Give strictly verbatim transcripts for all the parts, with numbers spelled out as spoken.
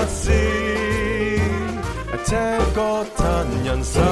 事，聽歌嘆人生。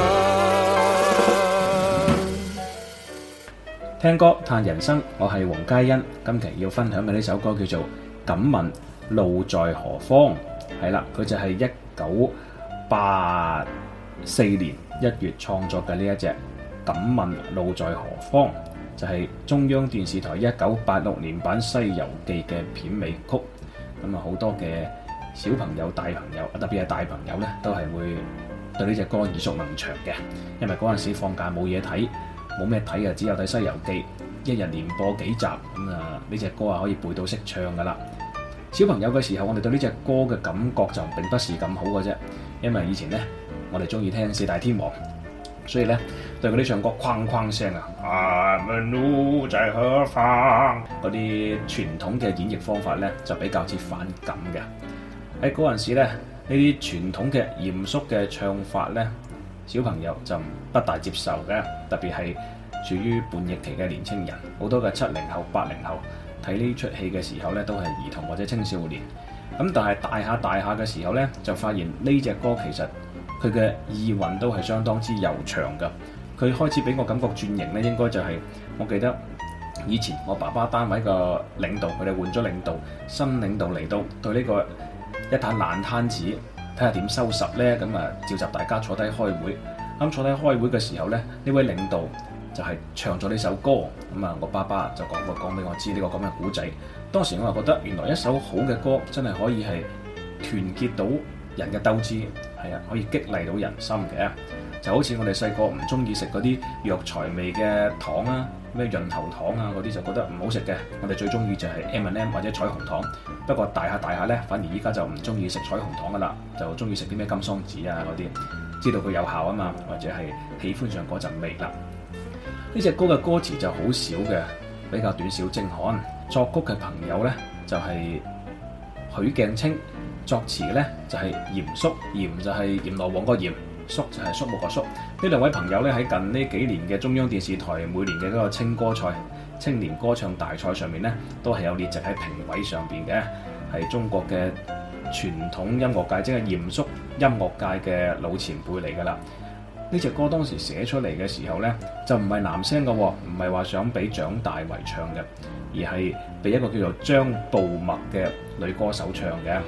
聽歌嘆人生，我係黃嘉欣。今期要分享嘅呢首歌叫做《敢問路在何方》。係啦，佢就係一九八四年一月創作嘅呢一隻《敢問路在何方》，就係、是、中央電視台一九八六年版《西遊記》嘅片尾曲。咁啊，好多嘅小朋友、大朋友，特別係大朋友呢，都係會對呢隻歌耳熟能詳嘅，因為嗰陣時放假冇嘢睇。冇咩睇啊，只有睇《西遊記》，一日連播幾集，咁啊呢隻歌啊可以背到識唱噶啦。小朋友嘅時候，我哋對呢隻歌嘅感覺就並不是咁好嘅啫，因為以前呢，我哋中意聽四大天王，所以呢，對嗰啲唱歌哐哐聲啊，啊問路在何方嗰啲傳統嘅演繹方法呢，就比較之反感嘅。喺嗰陣時呢，呢啲傳統嘅嚴肅嘅唱法呢，小朋友就不大接受嘅，特別係處於叛逆期嘅年青人，好多嘅七零後、八零後睇呢出戲嘅時候呢，都係兒童或者青少年。咁但係大下大下嘅時候呢，就發現呢隻歌其實佢嘅意韻都係相當之悠長嘅。佢開始俾我感覺轉型呢，應該就係、是、我記得以前我爸爸單位個領導，佢哋換咗領導，新領導嚟到對呢個一攤爛攤子，睇下點收拾呢？咁啊召集大家坐低開會。咁坐低開會嘅時候呢，呢位領導就係唱咗呢首歌。咁啊，我爸爸就講過講俾我知呢個咁嘅古仔。當時我就覺得原來一首好嘅歌真係可以係團結到人嘅鬥志，係啊，可以激勵到人心嘅。就好似我哋細個唔中意食嗰啲藥材味嘅糖啊，咩潤喉糖啊嗰啲就覺得唔好食嘅。我哋最中意就係 M and M 或者彩虹糖。不過大下大下呢，反而依家就唔中意食彩虹糖噶啦，就中意食啲咩金桑子啊嗰啲。知道佢有效啊嘛，或者係喜歡上嗰陣味啦。呢隻歌嘅歌詞就好少嘅，比較短小精悍。作曲嘅朋友呢，就係許鏡清，作詞呢，就係嚴肅，嚴就係閻羅王個嚴，肅就係肅穆個肅。呢兩位朋友呢，喺近呢幾年嘅中央電視台每年嘅嗰個青歌賽、青年歌唱大賽上面呢，都係有列席喺評委上邊嘅，係中國嘅傳統音樂界，即係嚴肅音樂界嘅老前輩嚟㗎啦。呢隻歌當時寫出嚟嘅時候呢，就唔係男聲嘅，唔係話想俾蔣大為唱嘅，而係俾一個叫做張步墨嘅女歌手唱嘅。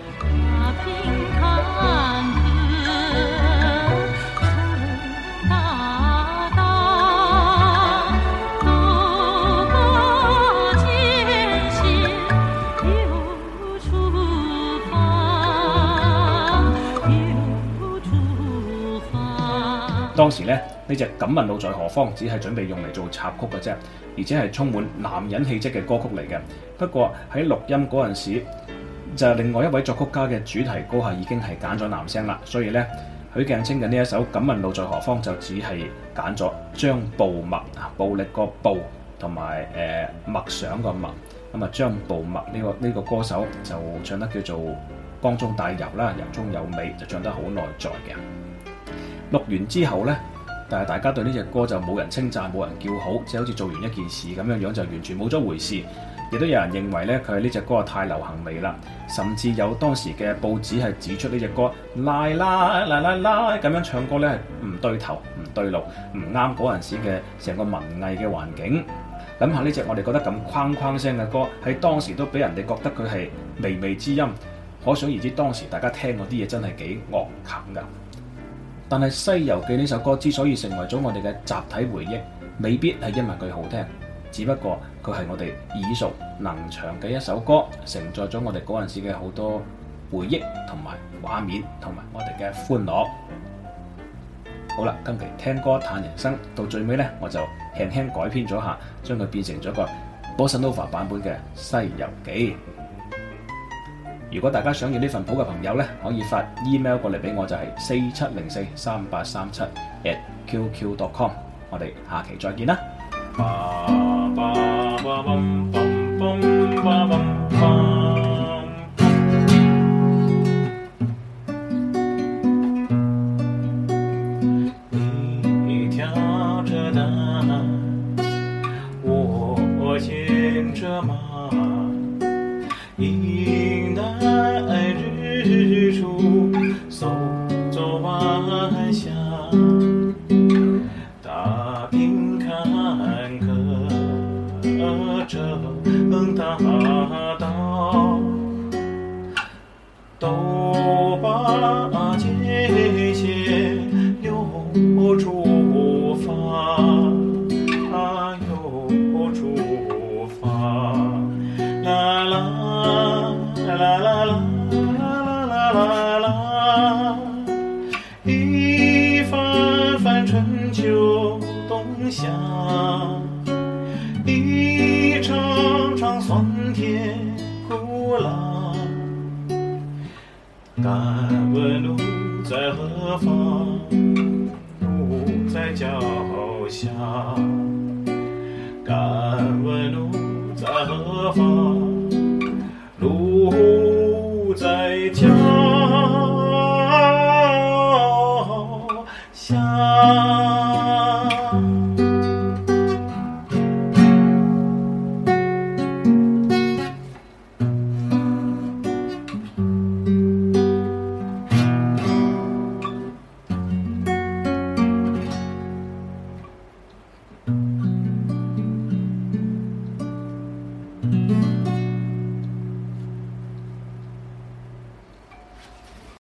當時咧，呢隻《敢問路在何方》只係準備用嚟做插曲嘅啫，而且係充滿男人氣質嘅歌曲嚟嘅。不過喺錄音嗰陣時，就係另外一位作曲家嘅主題歌係已經係揀咗男聲啦，所以呢，許鏡清嘅呢一首《敢問路在何方》就只係揀咗張步墨啊，暴力個暴同埋誒默想個默。咁啊，張步墨呢個呢個歌手就唱得叫做光中帶柔啦，柔中有美，就唱得好內在嘅。錄完之後呢，但係大家對呢隻歌就冇人稱讚，冇人叫好，即係好似做完一件事咁樣樣，就完全冇咗回事。亦都有人認為呢，佢係呢隻歌太流行味啦，甚至有當時嘅報紙係指出呢隻歌拉拉拉拉拉咁樣唱歌呢係唔對頭、唔對路、唔啱嗰陣時嘅成個文藝嘅環境。諗下呢隻我哋覺得咁框框聲嘅歌，喺當時都俾人哋覺得佢係微微之音，可想而知當時大家聽嗰啲嘢真係幾惡啃㗎。但係《西遊記》呢首歌之所以成為咗我哋嘅集體回憶，未必係因為佢好聽，只不過佢係我哋耳熟能詳嘅一首歌，承載咗我哋嗰陣時嘅好多回憶同埋畫面，同埋我哋嘅歡樂。好啦，今期聽歌嘆人生到最尾呢，我就輕輕改編咗下，將佢變成咗個 Bossa Nova 版本嘅《西遊記》。如果大家想要呢份譜嘅朋友呢，可以發 email 過嚟俾我，就係四七零四三八三七 at q q dot com。我哋下期再見啦。 你挑着擔，我牽着馬，迎來日出。 秋冬夏，一场场酸甜苦辣。敢问路在何方？路在脚下。敢问路在何方？路在脚下。